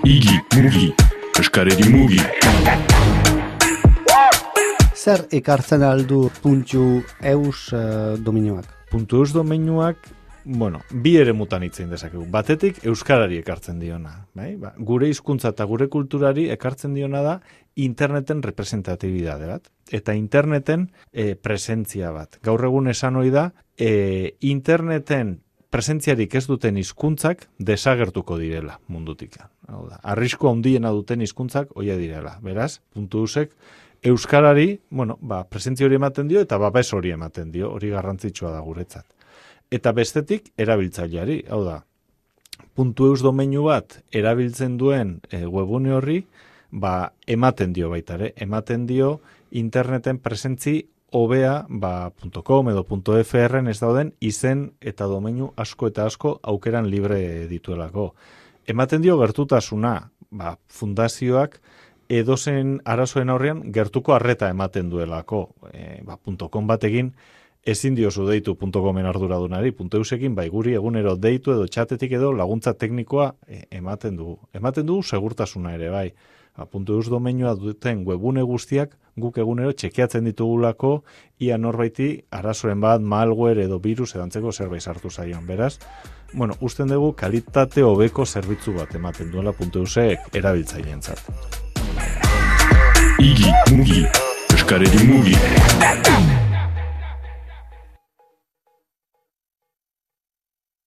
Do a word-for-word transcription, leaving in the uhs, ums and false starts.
Igi, mugi, eskareri mugi. Zer ekartzen aldu puntu eus uh, dominioak? Puntu eus dominioak, bueno, bi ere mutan hitzein dezakegu. Batetik euskarari ekartzen diona. Bai? Ba, gure hizkuntza eta gure kulturari ekartzen diona da interneten representatibidade bat. Eta interneten e, presentzia bat. Gaur egun esan ohi da, e, interneten presentziarik ez duten hizkuntzak desagertuko direla mundutik. Hau da, arrisku handiena duten hizkuntzak hoia direla. Beraz, puntu eusek euskarari, bueno, ba, presentzia hori ematen dio eta babes hori ematen dio, hori garrantzitsua da guretzat. Eta bestetik erabiltzaileari, hau da, puntu eus domeinu bat erabiltzen duen e, webune horri, ba, ematen dio baita ere, ematen dio interneten presentzi hobea, ba, .com edo .fr ez dauden izen eta domeinu asko eta asko aukeran libre dituelako. Ematen dio gertutasuna, ba, fundazioak edozen arazoen aurrean gertuko arreta ematen duelako. E, ba, .com batekin ezin diozu deitu .comen arduradunari, .eusekin bai guri egunero deitu edo txatetik edo laguntza teknikoa e, ematen dugu. Ematen dugu segurtasuna ere bai. Ba, .eus domeinua duten webune guztiak guk egunero txekeatzen ditugulako ia norbaiti arazoen bat, malware edo virus edantzeko zerbait sartu zaion. Beraz, bueno, usten dugu kalitate hobeko zerbitzu bat ematen duela .eusek erabiltzaileentzat. Igi, mugi, eskareri mugi.